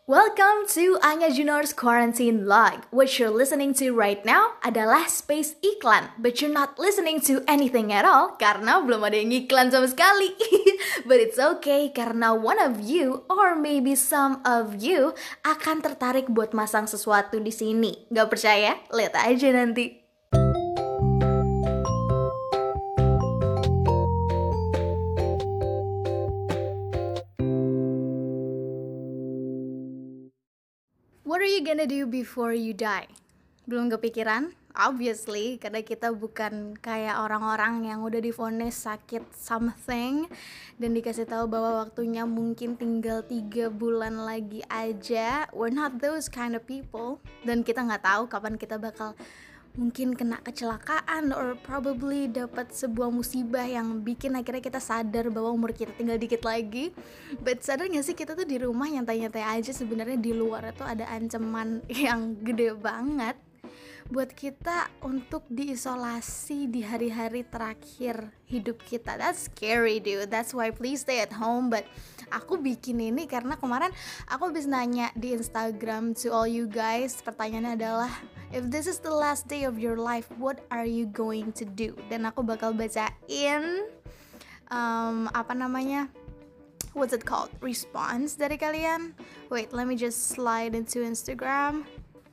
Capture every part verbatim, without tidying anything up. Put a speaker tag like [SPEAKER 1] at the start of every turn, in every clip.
[SPEAKER 1] Welcome to Anya Junar's Quarantine Log. What you're listening to right now adalah space iklan, but you're not listening to anything at all karena belum ada yang iklan sama sekali. But it's okay karena one of you or maybe some of you akan tertarik buat masang sesuatu di sini. Gak percaya? Lihat aja nanti. What are you gonna do before you die? Belum kepikiran? Obviously, karena kita bukan kayak orang-orang yang udah divonis sakit something dan dikasih tahu bahwa waktunya mungkin tinggal tiga bulan lagi aja. We're not those kind of people. Dan kita nggak tahu kapan kita bakal mungkin kena kecelakaan or probably dapat sebuah musibah yang bikin akhirnya kita sadar bahwa umur kita tinggal dikit lagi. But sadar gak sih kita tuh di rumah nyantai-nyantai aja, sebenarnya di luar itu ada ancaman yang gede banget buat kita untuk diisolasi di hari-hari terakhir hidup kita. That's scary dude, that's why please stay at home. But aku bikin ini karena kemarin aku habis nanya di Instagram to all you guys. Pertanyaannya adalah, if this is the last day of your life, what are you going to do? Dan aku bakal bacain um, apa namanya, what's it called, response dari kalian. Wait, let me just slide into Instagram.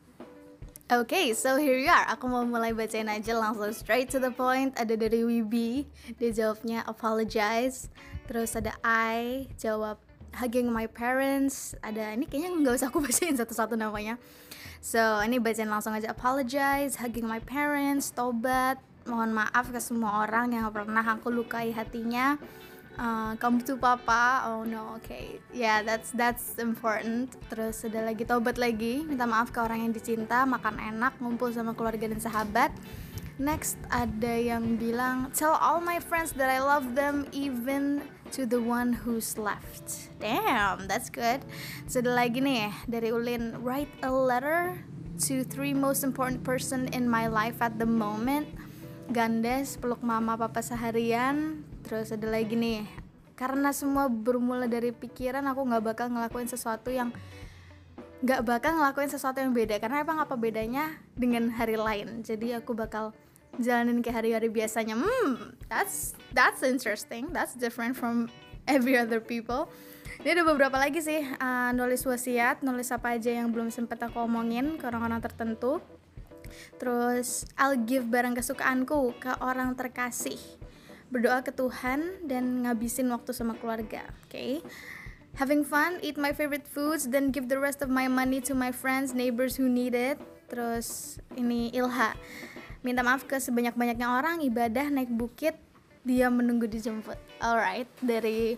[SPEAKER 1] Okay, so here you are. Aku mau mulai bacain aja langsung straight to the point. Ada dari Wibi, dia jawabnya apologize. Terus ada I, jawab hugging my parents. Ada, ini kayaknya nggak usah aku bacain satu-satu namanya. So, ini bacain langsung aja. Apologize, hugging my parents, tobat, mohon maaf ke semua orang yang pernah aku lukai hatinya. Uh, kamu tuh papa, oh no, okay, yeah, that's that's important. Terus ada lagi tobat lagi, minta maaf ke orang yang dicinta, makan enak, ngumpul sama keluarga dan sahabat. Next ada yang bilang, tell all my friends that I love them even to the one who's left. Damn, that's good. Terus ada lagi nih dari Ulin, write a letter to three most important person in my life at the moment. Gandes, peluk mama papa seharian. Terus ada lagi nih, karena semua bermula dari pikiran, aku gak bakal ngelakuin sesuatu yang Gak bakal ngelakuin sesuatu yang beda. Karena emang apa bedanya dengan hari lain. Jadi aku bakal jalanin kayak hari-hari biasanya. Hmm, that's, that's interesting. That's different from every other people. Ini ada beberapa lagi sih, uh, nulis wasiat, nulis apa aja yang belum sempat aku omongin ke orang-orang tertentu. Terus I'll give barang kesukaanku ke orang terkasih, berdoa ke Tuhan, dan ngabisin waktu sama keluarga. Oke, okay? Having fun, eat my favorite foods, then give the rest of my money to my friends, neighbors who need it. Terus ini Ilha, minta maaf ke sebanyak-banyaknya orang, ibadah, naik bukit, dia menunggu dijemput. Alright, dari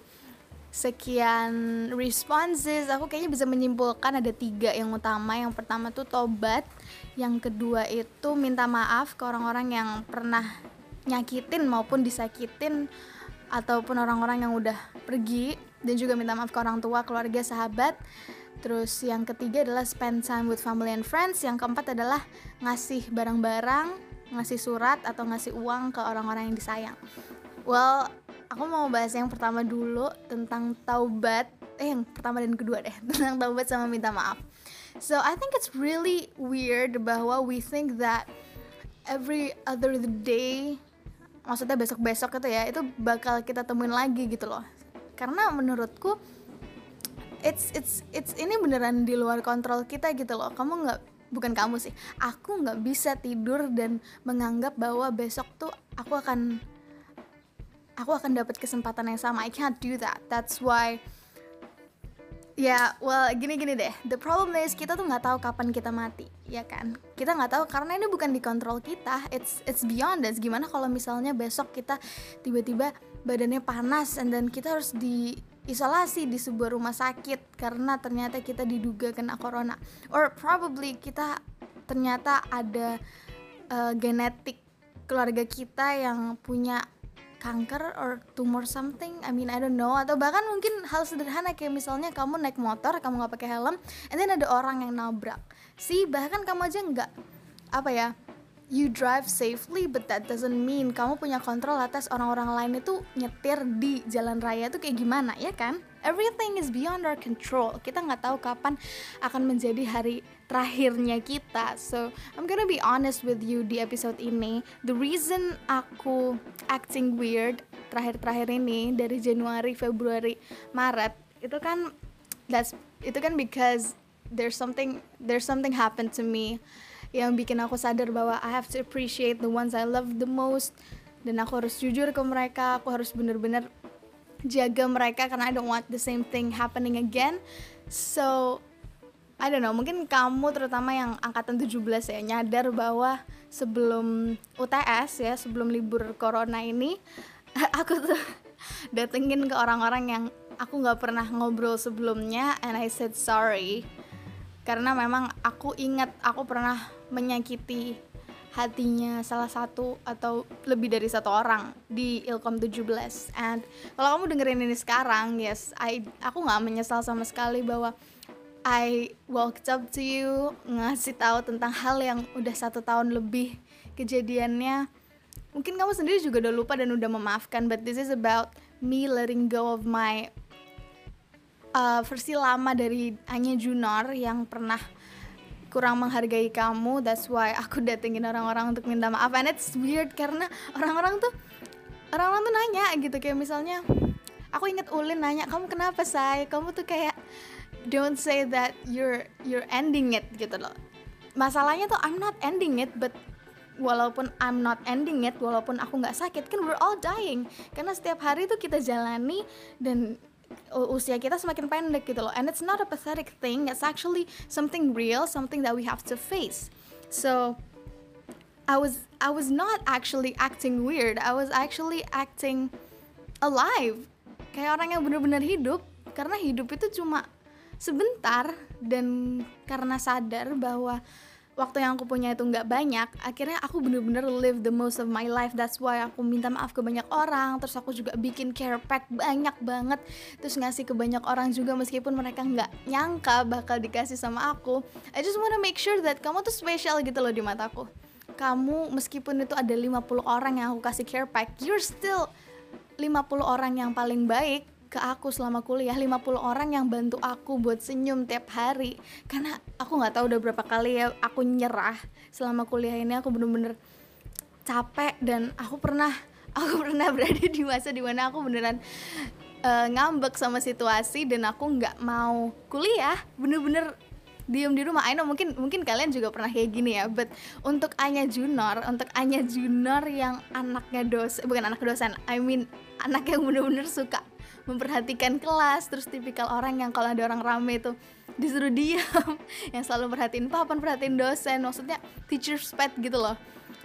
[SPEAKER 1] sekian responses, aku kayaknya bisa menyimpulkan ada tiga yang utama. Yang pertama tuh tobat, yang kedua itu minta maaf ke orang-orang yang pernah nyakitin maupun disakitin, ataupun orang-orang yang udah pergi, dan juga minta maaf ke orang tua, keluarga, sahabat. Terus yang ketiga adalah spend time with family and friends. Yang keempat adalah ngasih barang-barang, ngasih surat atau ngasih uang ke orang-orang yang disayang. Well, aku mau bahas yang pertama dulu tentang taubat. Eh, yang pertama dan kedua deh, tentang taubat sama minta maaf. So, I think it's really weird bahwa we think that every other day, maksudnya besok-besok itu ya, itu bakal kita temuin lagi gitu loh. Karena menurutku it's it's it's ini beneran di luar kontrol kita gitu loh. Kamu nggak, bukan kamu sih, aku nggak bisa tidur dan menganggap bahwa besok tuh aku akan aku akan dapat kesempatan yang sama. I can't do that. That's why, ya, yeah, well, gini-gini deh. The problem is kita tuh nggak tahu kapan kita mati, ya kan? Kita nggak tahu karena ini bukan di kontrol kita. It's it's beyond us. Gimana kalau misalnya besok kita tiba-tiba badannya panas, and then kita harus diisolasi di sebuah rumah sakit karena ternyata kita diduga kena corona, or probably kita ternyata ada uh, genetik keluarga kita yang punya kanker or tumor something, I mean I don't know. Atau bahkan mungkin hal sederhana kayak misalnya kamu naik motor, kamu gak pakai helm, and then ada orang yang nabrak. See, bahkan kamu aja gak, apa ya, you drive safely, but that doesn't mean kamu punya kontrol atas orang-orang lain itu nyetir di jalan raya tuh kayak gimana, ya kan? everything is beyond our control. Kita nggak tahu kapan akan menjadi hari terakhirnya kita. So I'm gonna be honest with you di episode ini. The reason aku acting weird terakhir-terakhir ini dari Januari, Februari, Maret itu kan that's itu kan because there's something there's something happened to me yang bikin aku sadar bahwa I have to appreciate the ones I love the most, dan aku harus jujur ke mereka, aku harus benar-benar jaga mereka karena I don't want the same thing happening again. So I don't know, mungkin kamu terutama yang angkatan tujuh belas ya nyadar bahwa sebelum U T S ya, sebelum libur corona ini aku tuh datengin ke orang-orang yang aku gak pernah ngobrol sebelumnya, and I said sorry karena memang aku ingat aku pernah menyakiti hatinya salah satu atau lebih dari satu orang di Ilkom tujuh belas. And kalau kamu dengerin ini sekarang, yes, I, aku gak menyesal sama sekali bahwa I walked up to you, ngasih tahu tentang hal yang udah satu tahun lebih kejadiannya. Mungkin kamu sendiri juga udah lupa dan udah memaafkan, but this is about me letting go of my uh, versi lama dari Anya Junor yang pernah kurang menghargai kamu. That's why aku datengin orang-orang untuk minta maaf. And it's weird karena orang-orang tuh orang-orang tuh nanya gitu, kayak misalnya aku inget Ulin nanya, kamu kenapa say? Kamu tuh kayak don't say that you're you're ending it gitu loh. Masalahnya tuh I'm not ending it, but walaupun I'm not ending it, walaupun aku nggak sakit, kan we're all dying. Karena setiap hari tuh kita jalani dan usia kita semakin pendek gitu loh. And it's not a pathetic thing, it's actually something real, something that we have to face. So I was I was not actually acting weird, I was actually acting alive, kayak orang yang benar-benar hidup. Karena hidup itu cuma sebentar, dan karena sadar bahwa waktu yang aku punya itu nggak banyak, akhirnya aku bener-bener live the most of my life. That's why aku minta maaf ke banyak orang, terus aku juga bikin care pack banyak banget, terus ngasih ke banyak orang juga meskipun mereka nggak nyangka bakal dikasih sama aku. I just wanna make sure that kamu tuh spesial gitu loh di mataku. Kamu meskipun itu ada lima puluh orang yang aku kasih care pack, you're still lima puluh orang yang paling baik ke aku selama kuliah, lima puluh orang yang bantu aku buat senyum tiap hari. Karena aku gak tahu udah berapa kali ya aku nyerah selama kuliah ini. Aku bener-bener capek, dan aku pernah aku pernah berada di masa dimana aku beneran uh, ngambek sama situasi, dan aku gak mau kuliah, bener-bener diem di rumah. I know mungkin mungkin kalian juga pernah kayak gini ya, but untuk Anya Junor, untuk Anya Junor yang anaknya dosen, bukan anak dosen, I mean anak yang bener-bener suka memperhatikan kelas, terus tipikal orang yang kalau ada orang rame itu disuruh diam, yang selalu perhatiin papan, perhatiin dosen, maksudnya teacher's pet gitu loh.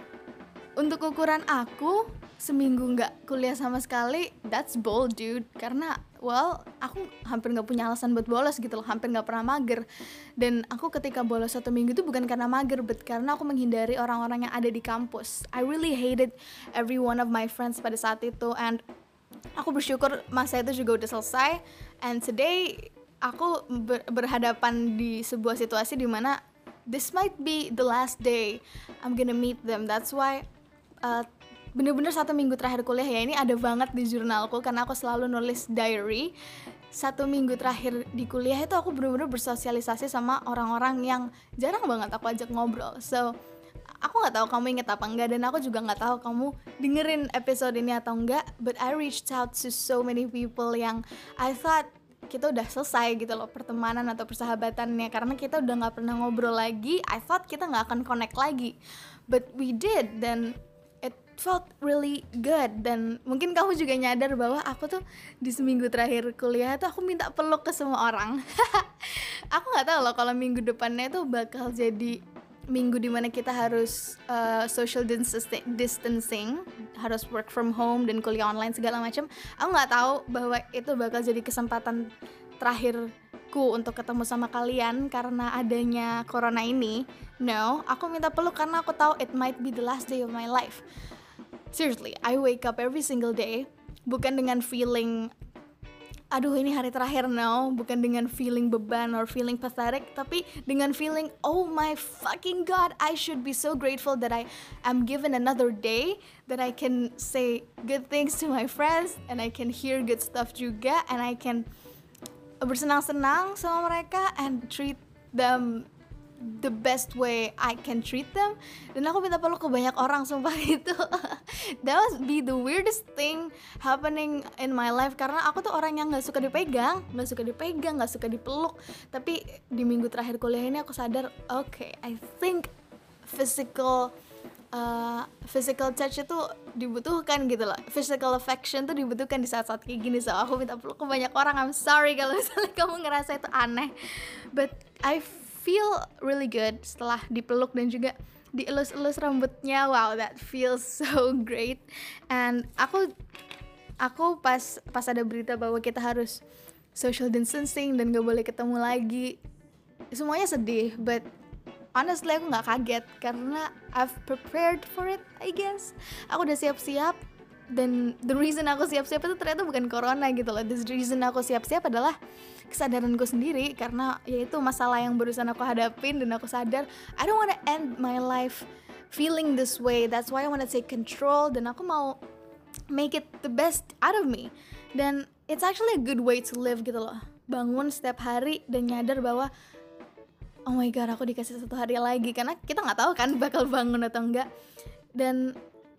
[SPEAKER 1] Untuk ukuran aku, seminggu nggak kuliah sama sekali, that's bold dude. Karena well, aku hampir nggak punya alasan buat bolos gitu loh, hampir nggak pernah mager. Dan aku ketika bolos satu minggu itu bukan karena mager, but karena aku menghindari orang-orang yang ada di kampus. I really hated every one of my friends pada saat itu, and aku bersyukur masa itu juga udah selesai. And today aku ber- berhadapan di sebuah situasi di mana this might be the last day I'm gonna meet them. That's why uh, bener-bener satu minggu terakhir kuliah ya, ini ada banget di jurnalku karena aku selalu nulis diary. Satu minggu terakhir di kuliah itu aku bener-bener bersosialisasi sama orang-orang yang jarang banget aku ajak ngobrol. So aku nggak tahu kamu inget apa enggak, dan aku juga nggak tahu kamu dengerin episode ini atau enggak, but I reached out to so many people yang I thought kita udah selesai gitu loh pertemanan atau persahabatannya, karena kita udah nggak pernah ngobrol lagi. I thought kita nggak akan connect lagi, but we did, dan it felt really good. Dan mungkin kamu juga nyadar bahwa aku tuh di seminggu terakhir kuliah tuh aku minta peluk ke semua orang. Aku nggak tahu loh kalau minggu depannya tuh bakal jadi minggu dimana kita harus uh, social distancing, harus work from home dan kuliah online segala macam. Aku nggak tahu bahwa itu bakal jadi kesempatan terakhirku untuk ketemu sama kalian karena adanya corona ini. No, aku minta peluk karena aku tahu it might be the last day of my life. Seriously, I wake up every single day bukan dengan feeling aduh ini hari terakhir, no, bukan dengan feeling beban or feeling pathetic, tapi dengan feeling oh my fucking god, I should be so grateful that I am given another day, that I can say good things to my friends, and I can hear good stuff juga, and I can bersenang-senang sama mereka and treat them the best way I can treat them. Dan aku minta peluk ke banyak orang, sumpah itu that was be the weirdest thing happening in my life, karena aku tuh orang yang gak suka dipegang, gak suka dipegang, gak suka dipeluk. Tapi di minggu terakhir kuliah ini aku sadar, oke, okay, I think physical uh, physical touch itu dibutuhkan gitu loh, physical affection tuh dibutuhkan di saat-saat kayak gini. So aku minta peluk ke banyak orang. I'm sorry kalau misalnya kamu ngerasa itu aneh, but I feel really good setelah dipeluk dan juga dielus-elus rambutnya. Wow, that feels so great. And aku aku pas pas ada berita bahwa kita harus social distancing dan gak boleh ketemu lagi, semuanya sedih, but honestly aku gak kaget karena I've prepared for it, I guess. Aku udah siap-siap, dan the reason aku siap-siap itu ternyata bukan corona gitu loh. The reason aku siap-siap adalah kesadaranku sendiri, karena yaitu masalah yang barusan aku hadapin, dan aku sadar I don't wanna end my life feeling this way. That's why I wanna take control, dan aku mau make it the best out of me. Dan it's actually a good way to live gitu loh. Bangun setiap hari dan nyadar bahwa oh my god, aku dikasih satu hari lagi, karena kita nggak tahu kan bakal bangun atau enggak. Dan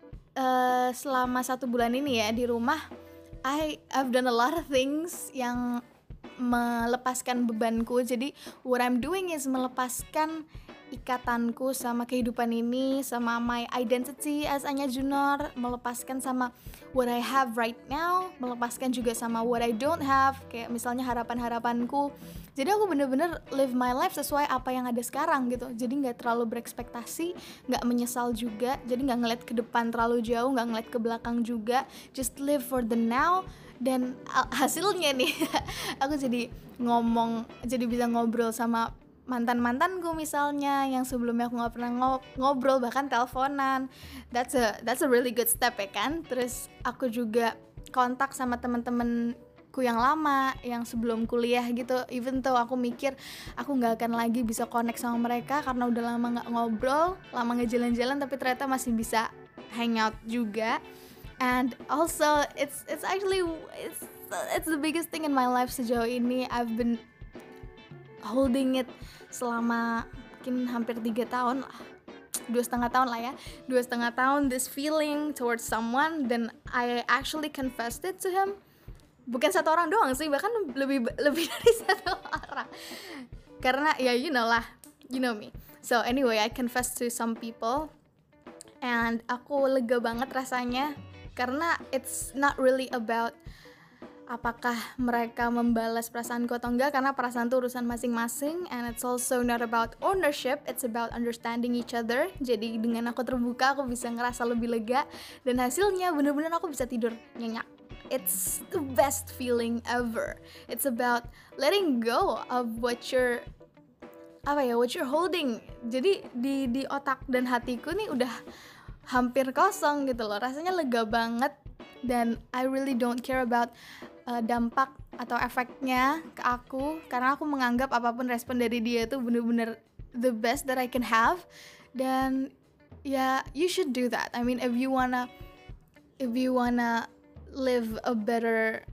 [SPEAKER 1] uh, selama satu bulan ini ya di rumah, I I've done a lot of things yang melepaskan bebanku. Jadi what I'm doing is melepaskan ikatanku sama kehidupan ini, sama my identity as Anya Junor, melepaskan sama what I have right now, melepaskan juga sama what I don't have, kayak misalnya harapan-harapanku. Jadi aku bener-bener live my life sesuai apa yang ada sekarang gitu. Jadi gak terlalu berekspektasi, gak menyesal juga. Jadi gak ngeliat ke depan terlalu jauh, gak ngeliat ke belakang juga. Just live for the now. Dan hasilnya nih aku jadi ngomong, jadi bisa ngobrol sama mantan-mantanku misalnya yang sebelumnya aku nggak pernah ngobrol, bahkan teleponan. That's a that's a really good step ya kan. Terus aku juga kontak sama teman-temanku yang lama yang sebelum kuliah gitu. Even though aku mikir aku nggak akan lagi bisa connect sama mereka karena udah lama nggak ngobrol, lama nggak jalan-jalan, tapi ternyata masih bisa hangout juga. And also it's it's actually it's it's the biggest thing in my life sejauh ini. I've been holding it selama mungkin hampir tiga tahun lah, dua setengah tahun lah ya, dua setengah tahun this feeling towards someone. Dan I actually confessed it to him. Bukan satu orang doang sih, bahkan lebih lebih dari satu orang. Karena ya you know lah, you know me. So anyway, I confessed to some people, and aku lega banget rasanya. Karena it's not really about apakah mereka membalas perasaanku atau enggak, karena perasaan itu urusan masing-masing. And it's also not about ownership, it's about understanding each other. Jadi dengan aku terbuka, aku bisa ngerasa lebih lega. Dan hasilnya bener-bener aku bisa tidur nyenyak. It's the best feeling ever. It's about letting go of what you're apa ya, what you're holding. Jadi di di otak dan hatiku nih udah hampir kosong gitu loh. Rasanya lega banget, dan I really don't care about uh, dampak atau efeknya ke aku, karena aku menganggap apapun respon dari dia itu bener-bener the best that I can have. Dan ya, yeah, you should do that. I mean, if you wanna if you wanna live a better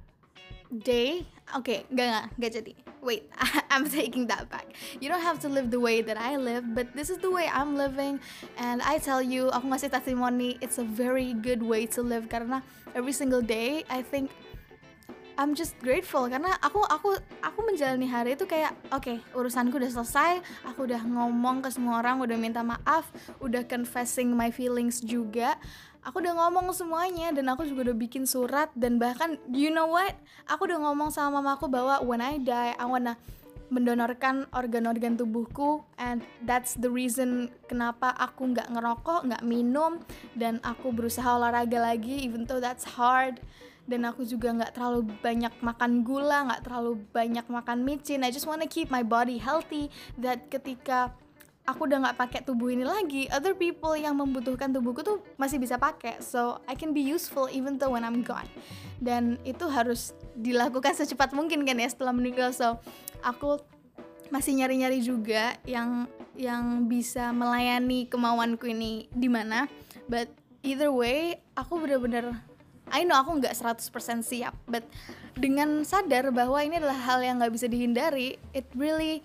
[SPEAKER 1] day, okay, gak gak gak jadi. Wait, I'm taking that back. You don't have to live the way that I live, but this is the way I'm living. And I tell you, aku ngasih testimoni, it's a very good way to live. Karena every single day, I think I'm just grateful. Karena aku aku aku menjalani hari itu kayak, oke, okay, urusanku udah selesai. Aku udah ngomong ke semua orang, udah minta maaf, udah confessing my feelings juga. Aku udah ngomong semuanya, dan aku juga udah bikin surat. Dan bahkan, you know what? Aku udah ngomong sama mamaku bahwa when I die, I wanna mendonorkan organ-organ tubuhku. And that's the reason kenapa aku gak ngerokok, gak minum, dan aku berusaha olahraga lagi, even though that's hard. Dan aku juga gak terlalu banyak makan gula, gak terlalu banyak makan micin. I just wanna keep my body healthy, that ketika aku udah nggak pakai tubuh ini lagi, other people yang membutuhkan tubuhku tuh masih bisa pakai, so I can be useful even though when I'm gone. Dan itu harus dilakukan secepat mungkin kan ya setelah meninggal. So aku masih nyari-nyari juga yang yang bisa melayani kemauanku ini di mana. But either way, aku bener-bener I know aku nggak seratus persen siap, but dengan sadar bahwa ini adalah hal yang nggak bisa dihindari, it really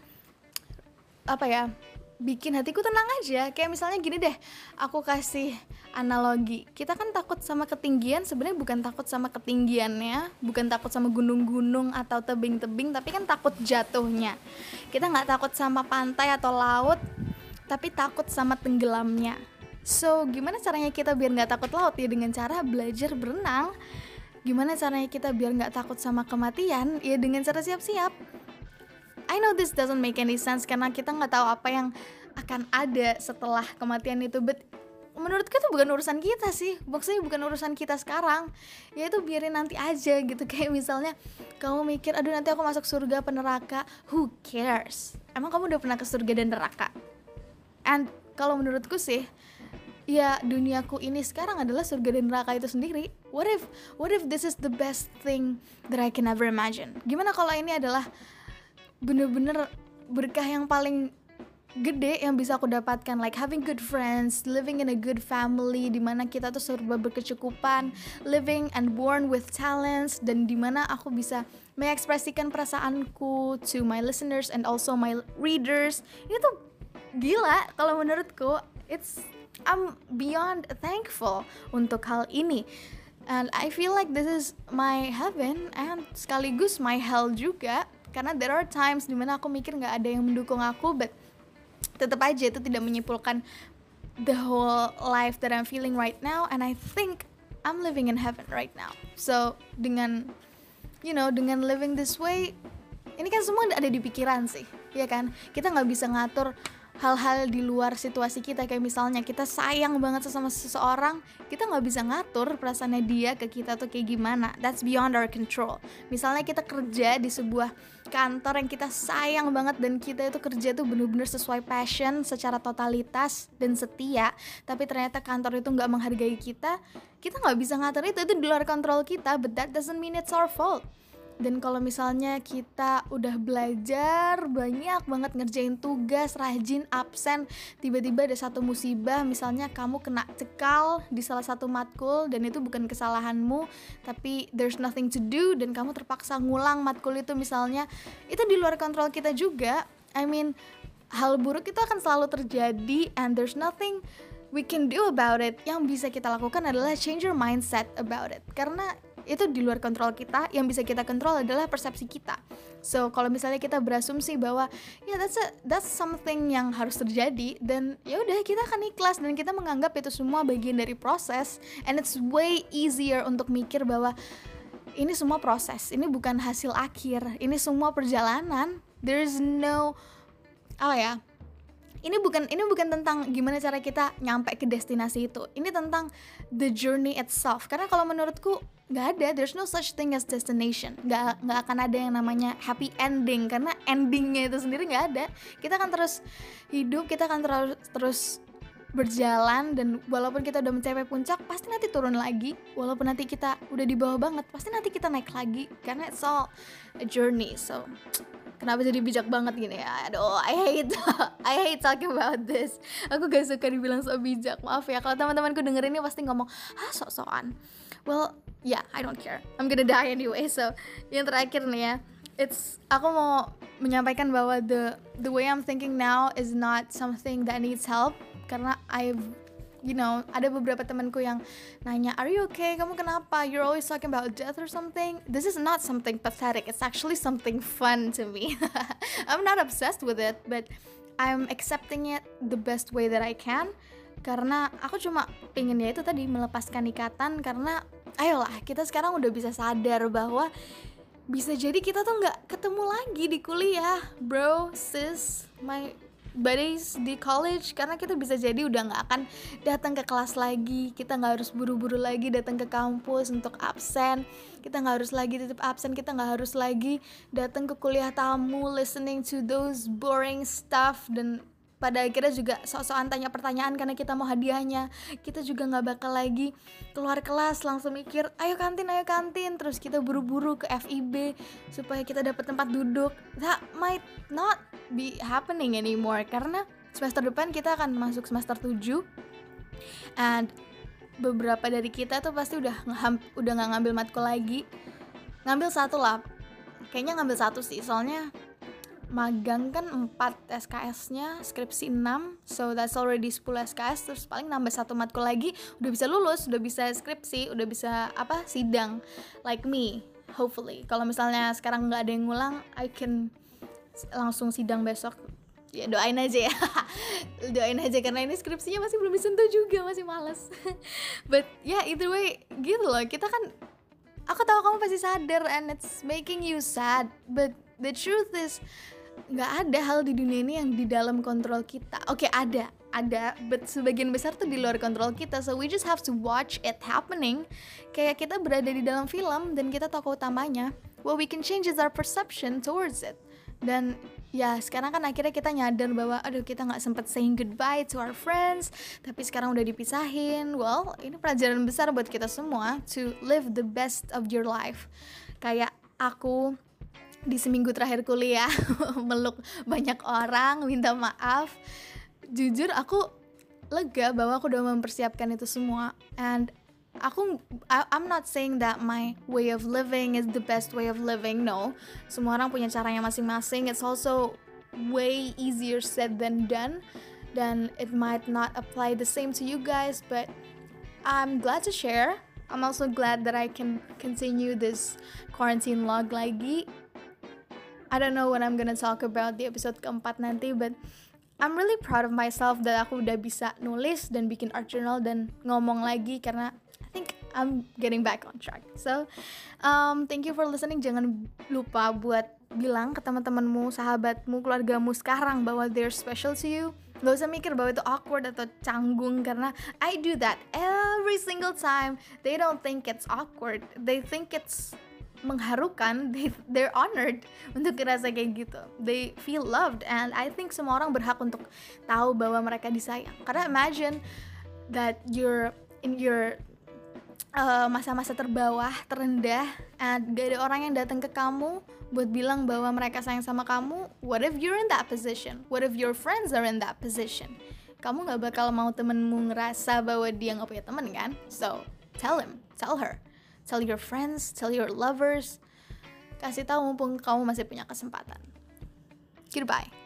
[SPEAKER 1] apa ya, bikin hatiku tenang aja. Kayak misalnya gini deh, aku kasih analogi. Kita kan takut sama ketinggian, sebenarnya bukan takut sama ketinggiannya, bukan takut sama gunung-gunung atau tebing-tebing, tapi kan takut jatuhnya. Kita nggak takut sama pantai atau laut, tapi takut sama tenggelamnya. So, gimana caranya kita biar nggak takut laut? Ya dengan cara belajar berenang. Gimana caranya kita biar nggak takut sama kematian? Ya dengan cara siap-siap. I know this doesn't make any sense karena kita nggak tahu apa yang akan ada setelah kematian itu, but menurutku itu bukan urusan kita sih. Maksudnya bukan urusan kita sekarang. Ya itu biarin nanti aja gitu. Kayak misalnya kamu mikir, aduh nanti aku masuk surga apa neraka. Who cares? Emang kamu udah pernah ke surga dan neraka? And kalau menurutku sih, ya duniaku ini sekarang adalah surga dan neraka itu sendiri. What if, what if this is the best thing that I can ever imagine? Gimana kalau ini adalah bener-bener berkah yang paling gede yang bisa aku dapatkan, like having good friends, living in a good family, dimana kita tuh serba berkecukupan, living and born with talents, dan dimana aku bisa mengekspresikan perasaanku to my listeners and also my readers. Ini tuh gila kalau menurutku. It's I'm beyond thankful untuk hal ini, and I feel like this is my heaven and sekaligus my hell juga. Karena there are times dimana aku mikir gak ada yang mendukung aku, but tetap aja itu tidak menyimpulkan the whole life that I'm feeling right now, and I think I'm living in heaven right now. So dengan, you know, dengan living this way, ini kan semua ada di pikiran sih, ya kan? Kita gak bisa ngatur hal-hal di luar situasi kita. Kayak misalnya kita sayang banget sama seseorang, kita gak bisa ngatur perasaannya dia ke kita tuh kayak gimana. That's beyond our control. Misalnya kita kerja di sebuah kantor yang kita sayang banget, dan kita itu kerja tuh bener-bener sesuai passion secara totalitas dan setia, tapi ternyata kantor itu gak menghargai kita, kita gak bisa ngatur itu, itu di luar kontrol kita, but that doesn't mean it's our fault. Dan kalau misalnya kita udah belajar banyak banget ngerjain tugas, rajin, absen, tiba-tiba ada satu musibah, misalnya kamu kena cekal di salah satu matkul dan itu bukan kesalahanmu, tapi there's nothing to do dan kamu terpaksa ngulang matkul itu misalnya, itu di luar kontrol kita juga. I mean, hal buruk itu akan selalu terjadi and there's nothing we can do about it. Yang bisa kita lakukan adalah change your mindset about it, karena itu di luar kontrol kita. Yang bisa kita kontrol adalah persepsi kita. So kalau misalnya kita berasumsi bahwa ya yeah, that's a, that's something yang harus terjadi, dan ya udah kita akan ikhlas dan kita menganggap itu semua bagian dari proses, and it's way easier untuk mikir bahwa ini semua proses, ini bukan hasil akhir, ini semua perjalanan. There's no apa ya, ini bukan ini bukan tentang gimana cara kita nyampe ke destinasi itu. Ini tentang the journey itself. Karena kalau menurutku nggak ada, there's no such thing as destination. Nggak nggak akan ada yang namanya happy ending, karena endingnya itu sendiri nggak ada. Kita akan terus hidup, kita akan terus terus berjalan, dan walaupun kita udah mencapai puncak, pasti nanti turun lagi. Walaupun nanti kita udah di bawah banget, pasti nanti kita naik lagi. Karena it's all a journey. So kenapa jadi bijak banget gini ya? Aduh, I hate I hate talking about this. Aku gak suka dibilang so bijak. Maaf ya, kalau teman-temanku denger ini pasti ngomong, ah sok-sokan. Well, yeah, I don't care. I'm gonna die anyway. So, yang terakhir nih ya, it's aku mau menyampaikan bahwa the the way I'm thinking now is not something that needs help. Karena I've, you know, ada beberapa temanku yang nanya, are you okay? Kamu kenapa? You're always talking about death or something. This is not something pathetic. It's actually something fun to me. I'm not obsessed with it, but I'm accepting it the best way that I can. Karena aku cuma pengen ya itu tadi, melepaskan ikatan. Karena ayolah, kita sekarang udah bisa sadar bahwa bisa jadi kita tuh gak ketemu lagi di kuliah, bro, sis, my buddies di college, karena kita bisa jadi udah gak akan datang ke kelas lagi. Kita gak harus buru-buru lagi datang ke kampus untuk absen. Kita gak harus lagi tetap absen. Kita gak harus lagi datang ke kuliah tamu, listening to those boring stuff, dan pada akhirnya juga sok-sokan tanya pertanyaan karena kita mau hadiahnya. Kita juga gak bakal lagi keluar kelas langsung mikir, ayo kantin, ayo kantin, terus kita buru-buru ke F I B supaya kita dapat tempat duduk. That might not be happening anymore, karena semester depan kita akan masuk semester tujuh, and beberapa dari kita tuh pasti udah ngeham, udah gak ngambil matkul lagi. ngambil satu lah, kayaknya ngambil satu sih, soalnya magang kan empat S K S-nya, skripsi enam, so that's already sepuluh S K S, terus paling nambah satu matkul lagi, udah bisa lulus, udah bisa skripsi, udah bisa apa sidang, like me, hopefully. Kalau misalnya sekarang nggak ada yang ngulang, I can langsung sidang besok. Ya doain aja ya, doain aja karena ini skripsinya masih belum disentuh juga, masih malas. But yeah, either way, gitu loh, kita kan, aku tahu kamu pasti sadar and it's making you sad, but the truth is nggak ada hal di dunia ini yang di dalam kontrol kita. Oke, okay, ada, ada, but sebagian besar tuh di luar kontrol kita. So we just have to watch it happening. Kayak kita berada di dalam film dan kita tokoh utamanya. What we can change is our perception towards it. Dan ya sekarang kan akhirnya kita nyadar bahwa aduh kita nggak sempet saying goodbye to our friends, tapi sekarang udah dipisahin. Well, ini pelajaran besar buat kita semua to live the best of your life. Kayak aku di seminggu terakhir kuliah meluk banyak orang, minta maaf. Jujur aku lega bahwa aku udah mempersiapkan itu semua. And aku I, I'm not saying that my way of living is the best way of living. No, semua orang punya caranya masing-masing. It's also way easier said than done. Dan it might not apply the same to you guys, but I'm glad to share. I'm also glad that I can continue this quarantine log lagi. I don't know what I'm gonna talk about di episode keempat nanti, but I'm really proud of myself that aku udah bisa nulis dan bikin art journal dan ngomong lagi karena I think I'm getting back on track. So, um, thank you for listening. Jangan lupa buat bilang ke teman-temanmu, sahabatmu, keluargamu sekarang bahwa they're special to you. Gak usah mikir bahwa itu awkward atau canggung karena I do that every single time. They don't think it's awkward. They think it's mengharukan. They, they're honored untuk ngerasa kayak gitu. They feel loved and I think semua orang berhak untuk tahu bahwa mereka disayang. Karena imagine that you're in your uh, masa-masa terbawah, terendah, and gak ada orang yang datang ke kamu buat bilang bahwa mereka sayang sama kamu. What if you're in that position? What if your friends are in that position? Kamu gak bakal mau temenmu ngerasa bahwa dia gak punya temen kan? So, tell him, tell her. Tell your friends, tell your lovers. Kasih tahu mumpung kamu masih punya kesempatan. Goodbye.